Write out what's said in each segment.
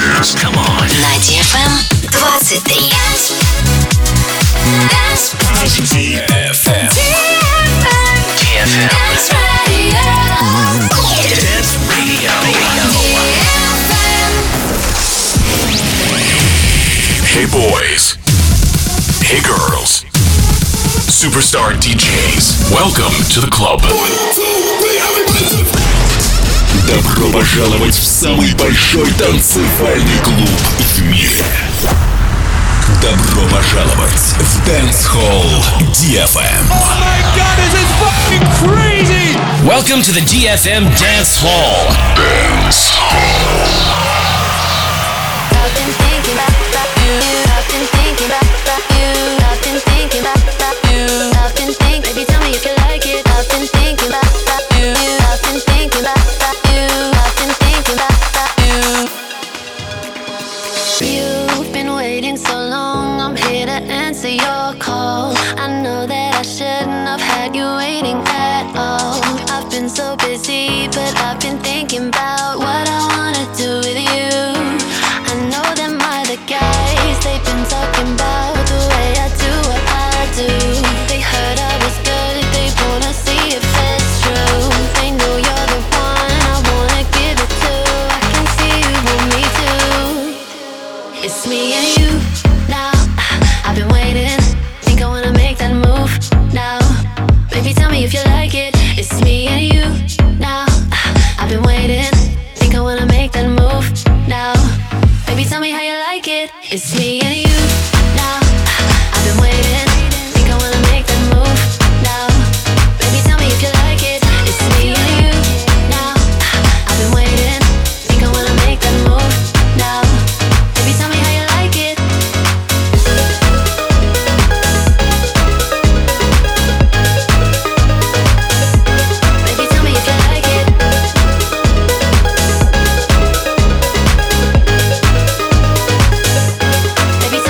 Come on. На DFM 23. DFM. Dance Radio. Dance Radio. Hey boys. Hey girls. Superstar DJs. Welcome to the club. Добро пожаловать в самый большой танцевальный клуб в мире. Добро пожаловать в Dance Hall DFM. Oh my god, this is fucking crazy! Welcome to the DFM Dance Hall. Dance Hall. I've been thinking about you. I've been thinking about you. I've been thinking about you. I've been thinking, baby, tell me if you like it. I've been thinking about you. I've been thinking about you. I've been thinking about you. You've been waiting so long. I'm here to answer your call. I know that I shouldn't have had you waiting at all. I've been so busy, but I've been thinking about what I wanna do with you. I know that my other guys, they've been talking about the way I do what I do. They heard I was good, they wanna see if it's true. They know you're the one I wanna give it to. I can see you want me too. It's me and you now. I've been waiting, think I wanna make that move now. Baby, tell me if you like it. It's me and you now. I've been waiting, think I wanna make that move now. Baby, tell me how you like it. It's me and you now. I've been waiting, think I wanna make that move now. Baby, tell me if you like it. It's me and you now. I've been waiting, think I wanna make that move now. Baby, tell me how you like it. Baby, tell me if you like it. Baby,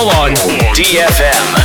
Hall on DFM.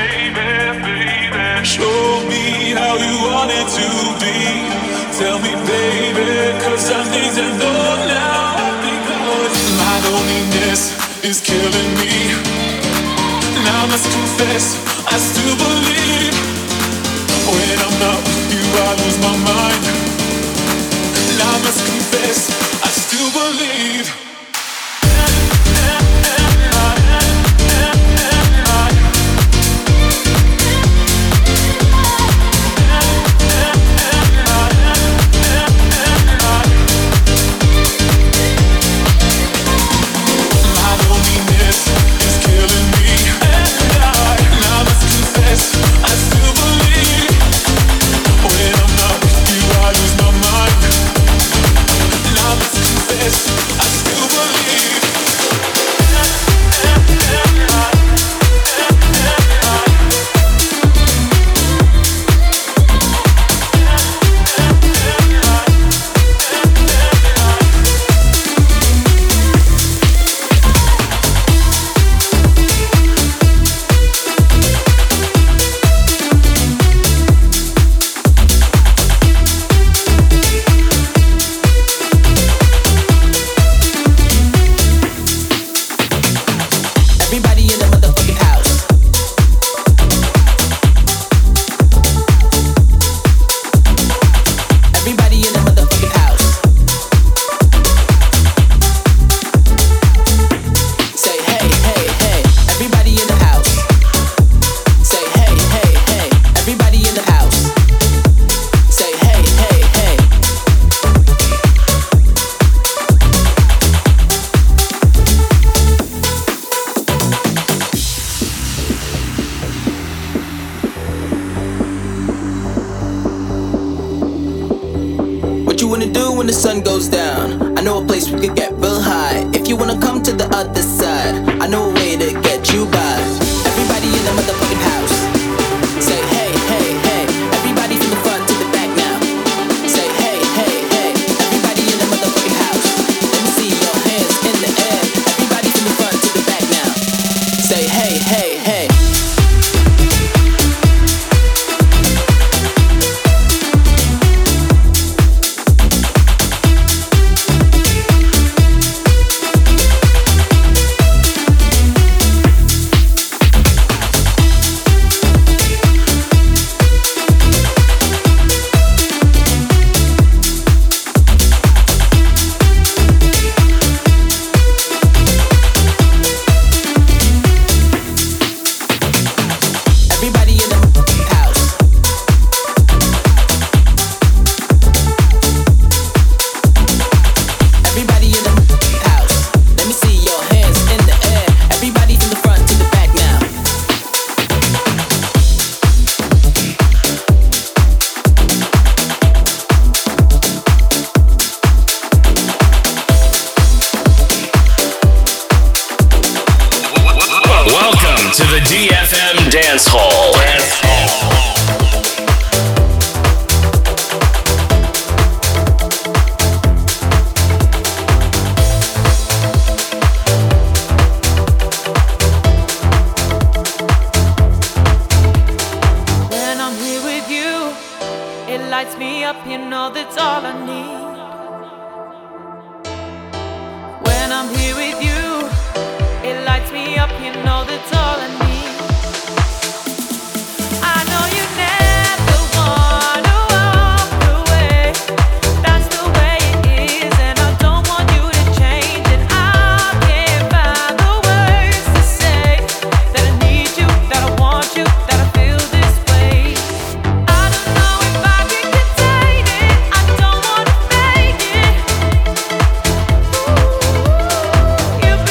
Show me how you want it to be. Tell me, baby, 'cause I need to know now. Because my loneliness is killing me. Now I must confess, I still believe. When I'm not with you, I lose my mind. Now I must confess, I still believe. You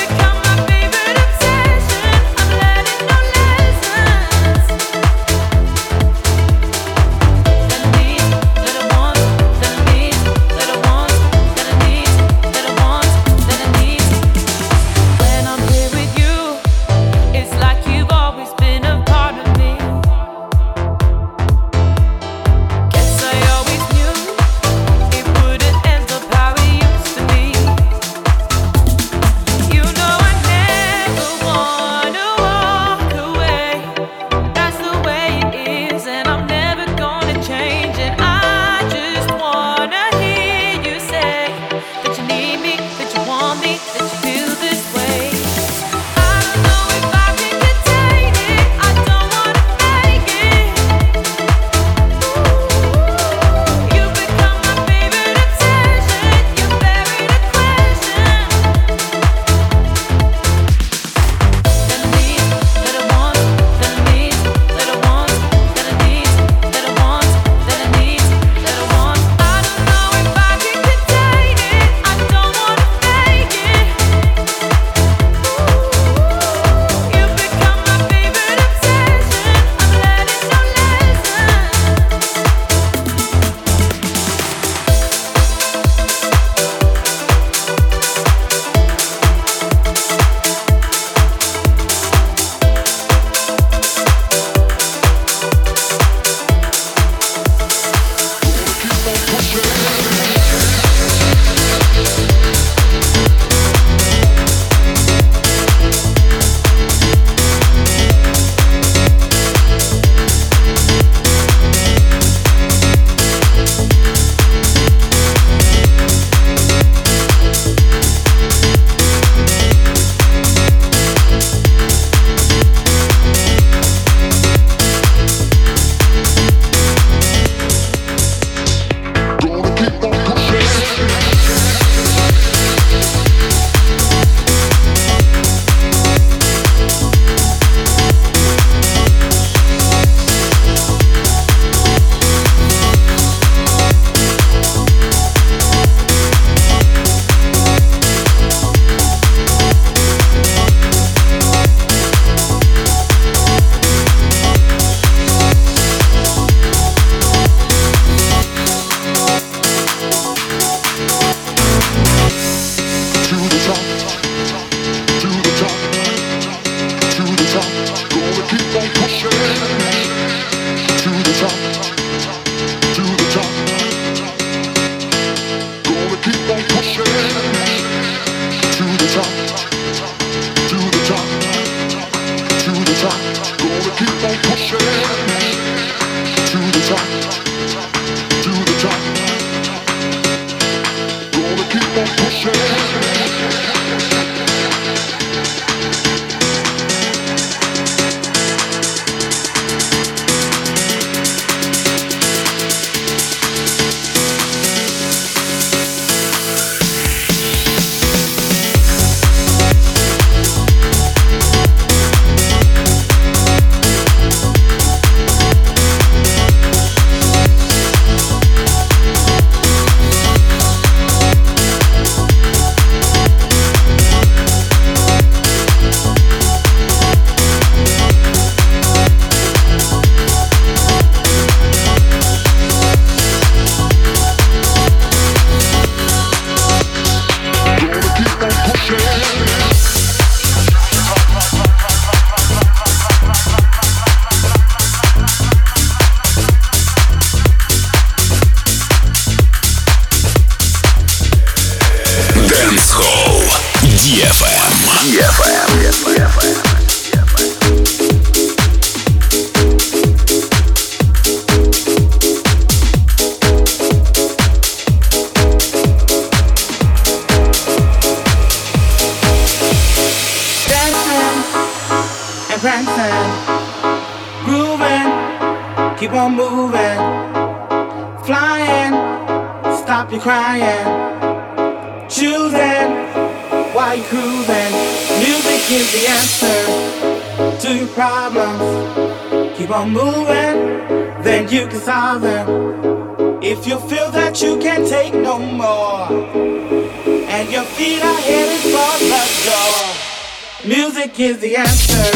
keep on moving, flying, stop your crying, choosing while you're cruising. Music is the answer to your problems. Keep on moving, then you can solve them. If you feel that you can't take no more, and your feet are headed for the door, music is the answer.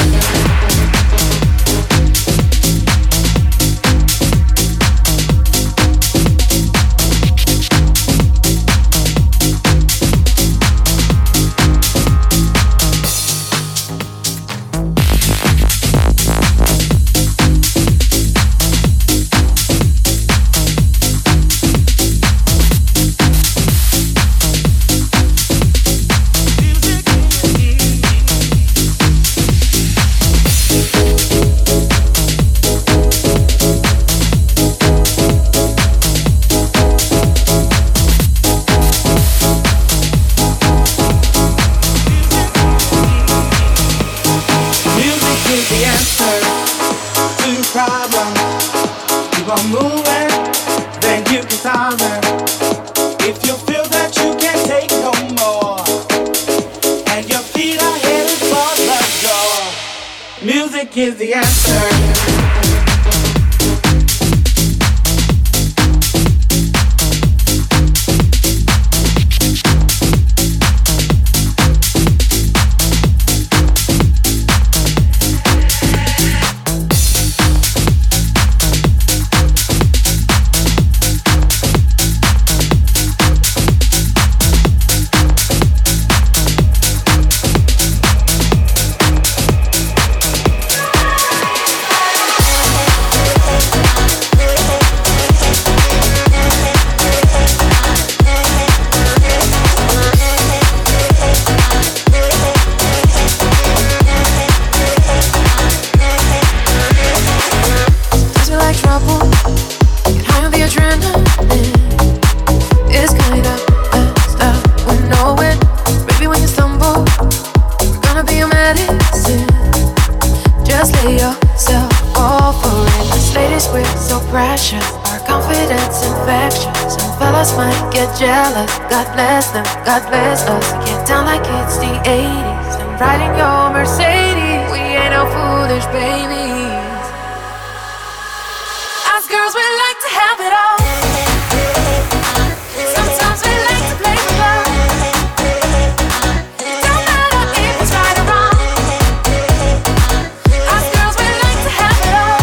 Music is the answer. God bless them, God bless us. Get down like it's the 80s and riding your Mercedes. We ain't no foolish babies. Us girls, we like to have it all. Sometimes we like to play with love. It don't matter if it's right or wrong. Us girls, we like to have it all.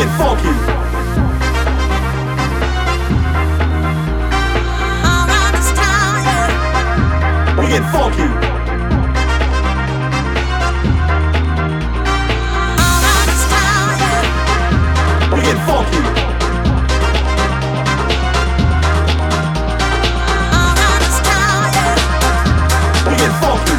get funky. Around this town, yeah. We get funky. Around this town, yeah. We get funky. Around this town, yeah. We get funky.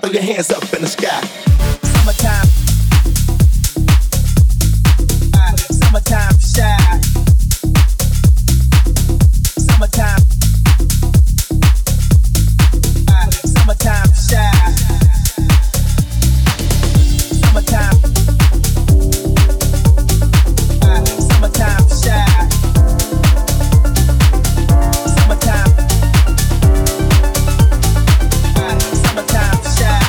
Throw your hands up in the sky. Summertime. Summertime shy. Summertime. Summertime shy. Summertime. Summertime shy. Summertime. Summertime shy.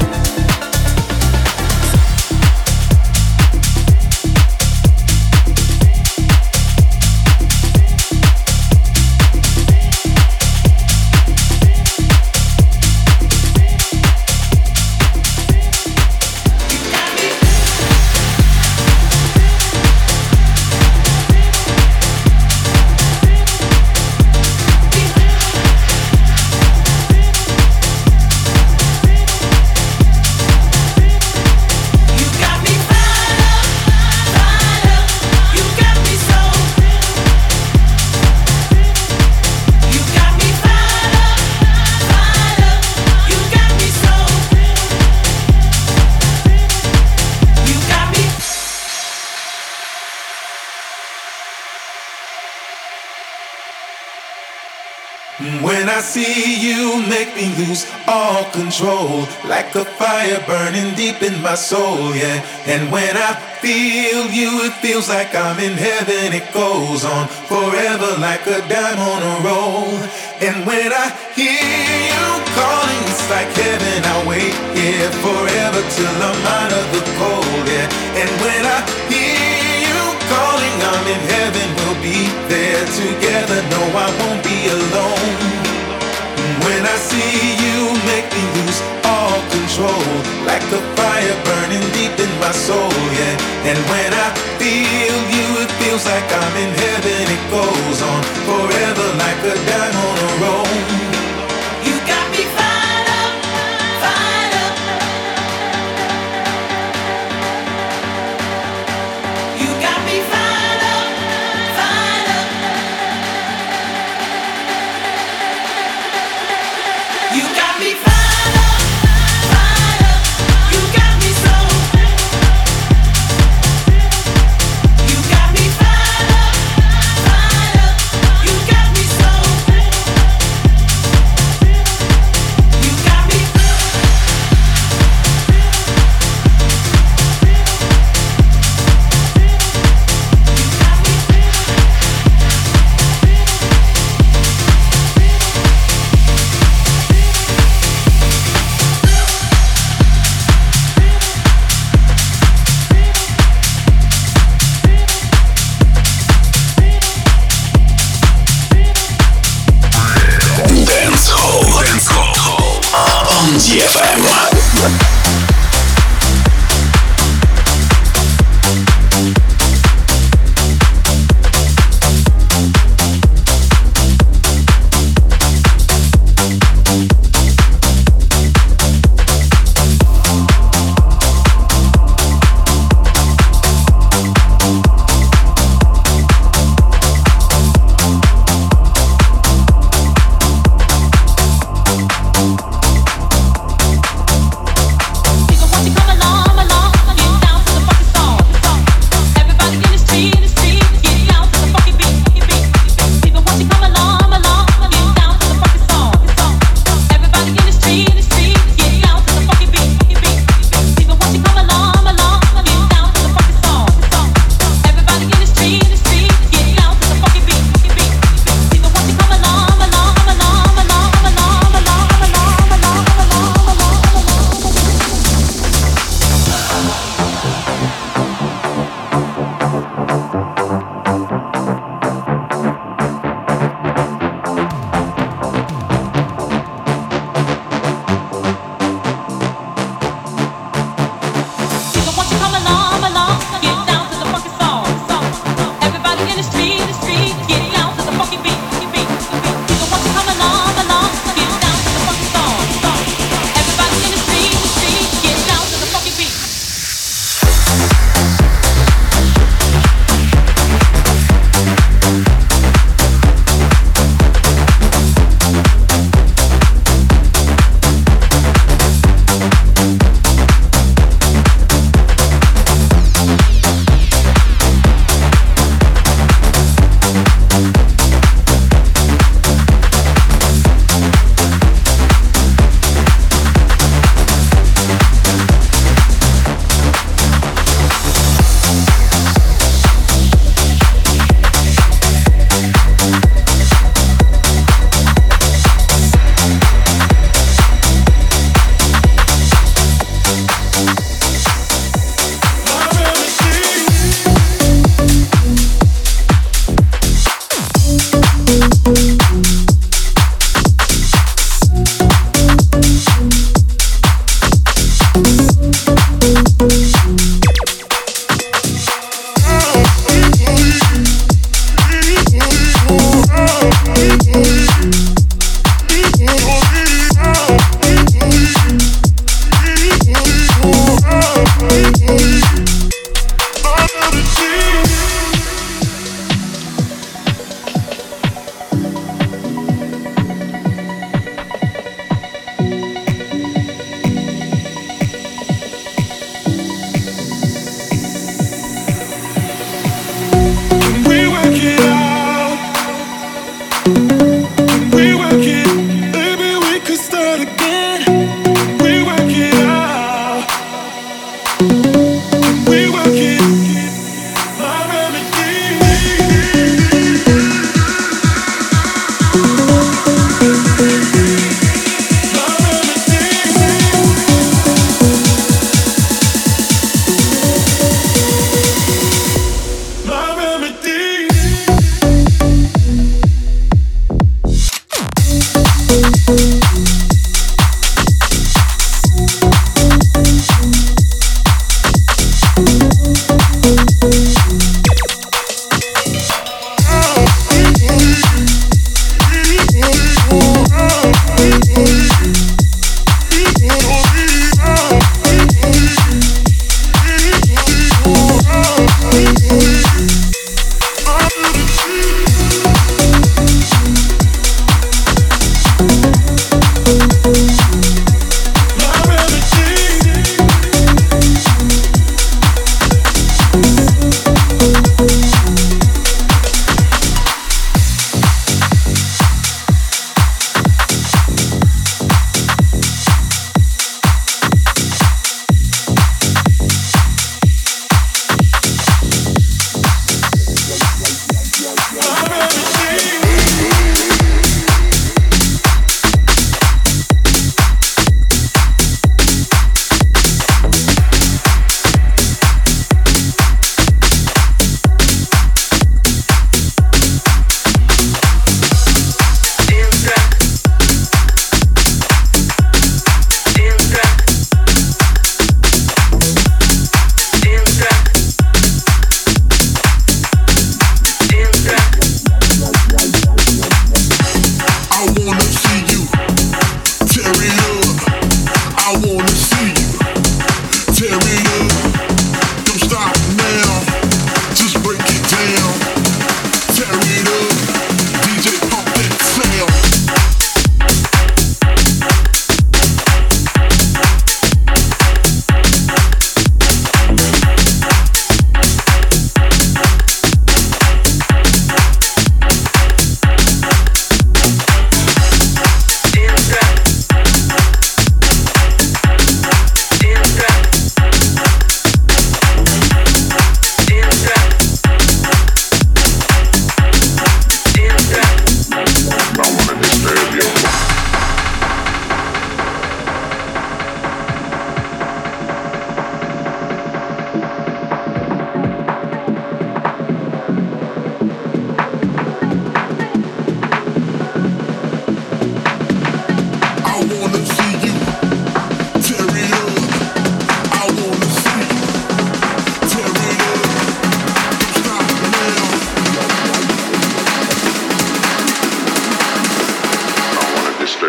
When I see you, make me lose all control, like a fire burning deep in my soul, yeah. And when I feel you, it feels like I'm in heaven. It goes on forever like a dime on a roll. And when I hear you calling, it's like heaven. I wait here forever till I'm out of the cold, yeah. And when I hear you calling, I'm in heaven. We'll be there together. No, I won't be alone. When I see you, make me lose all control, like a fire burning deep in my soul, yeah. And when I feel you, it feels like I'm in heaven. It goes on forever like a dime on a roll. You got me fired up, fired up. You got me fired up, fired up. You got me fired up, fired up. You got me so. You got me fired up, fired up. You got me so.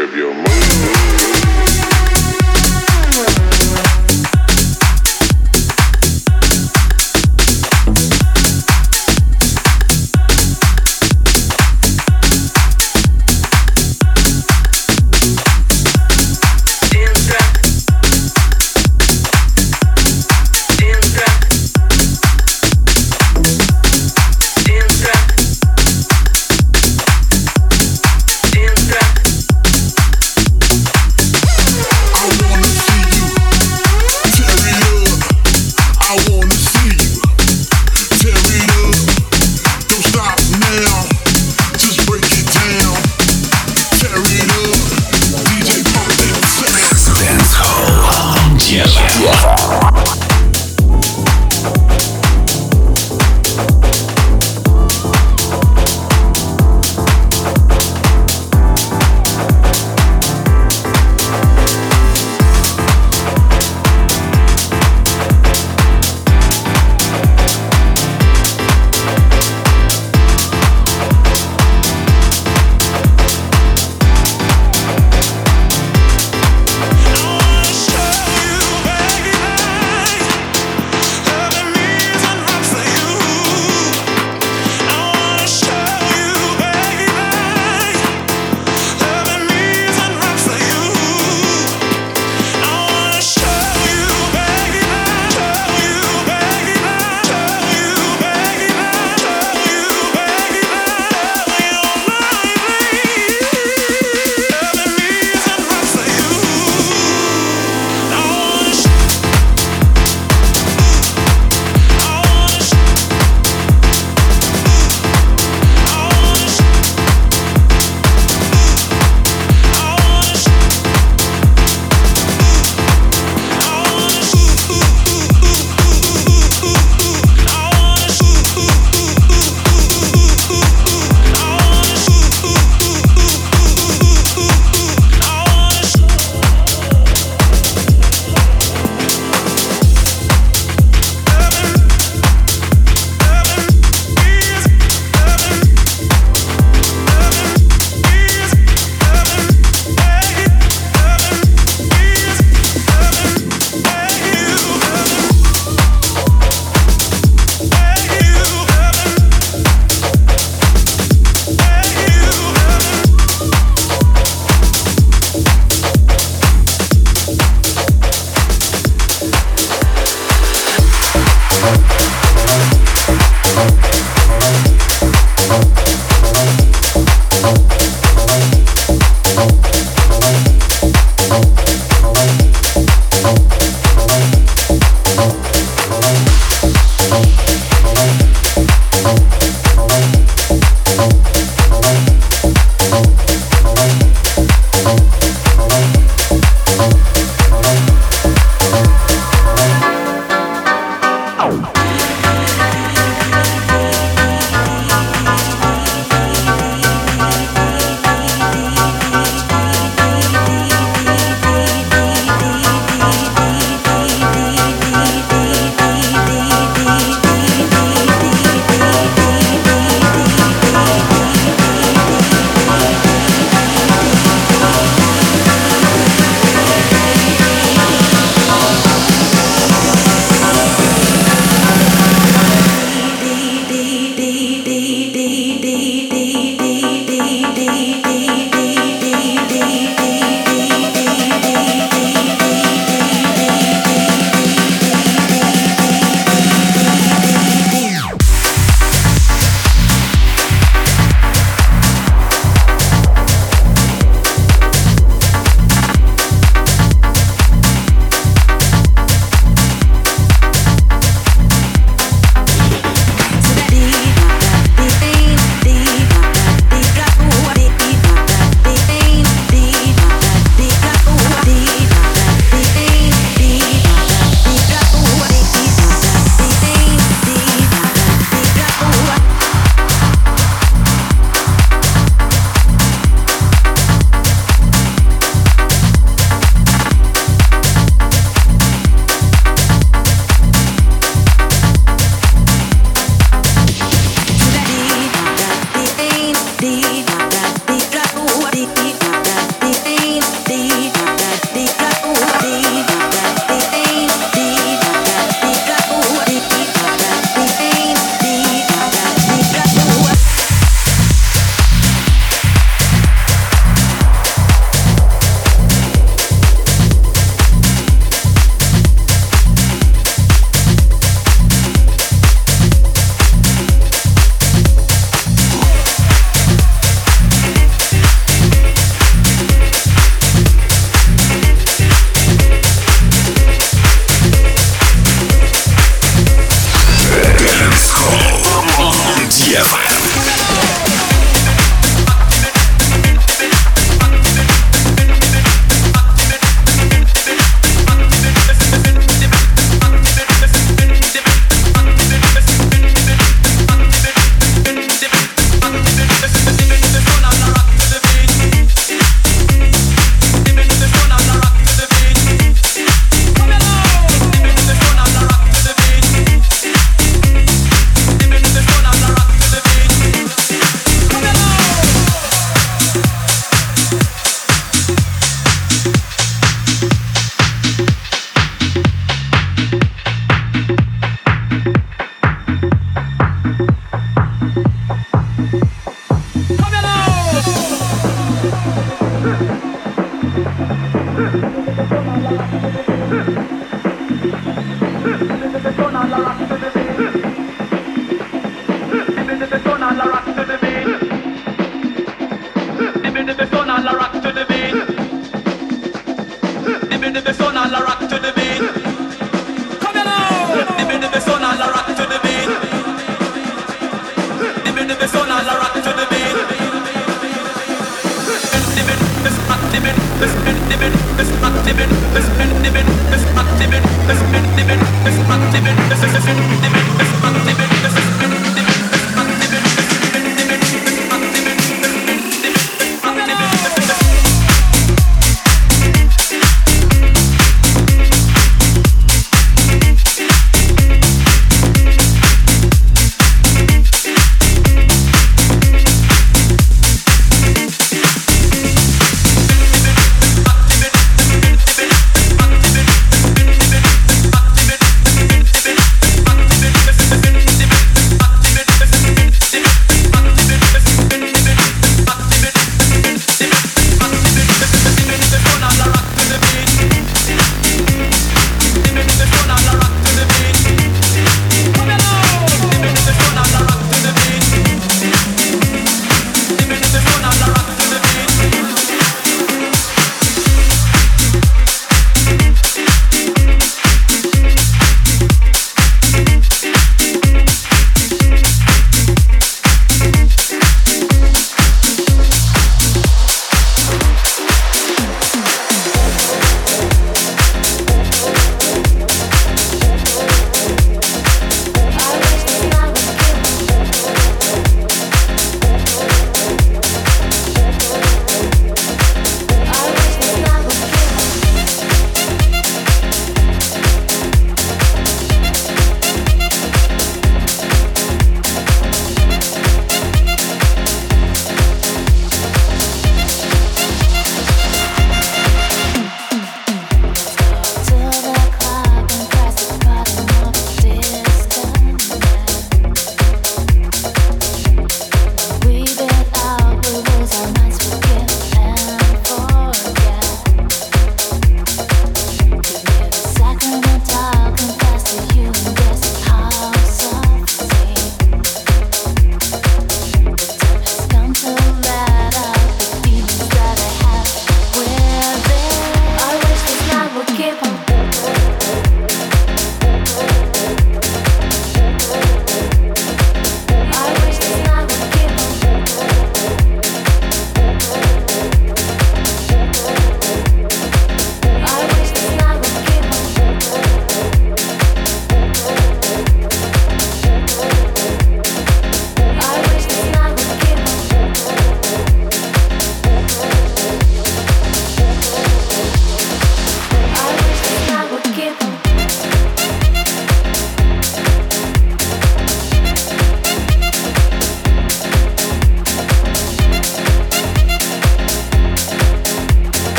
curb your move. This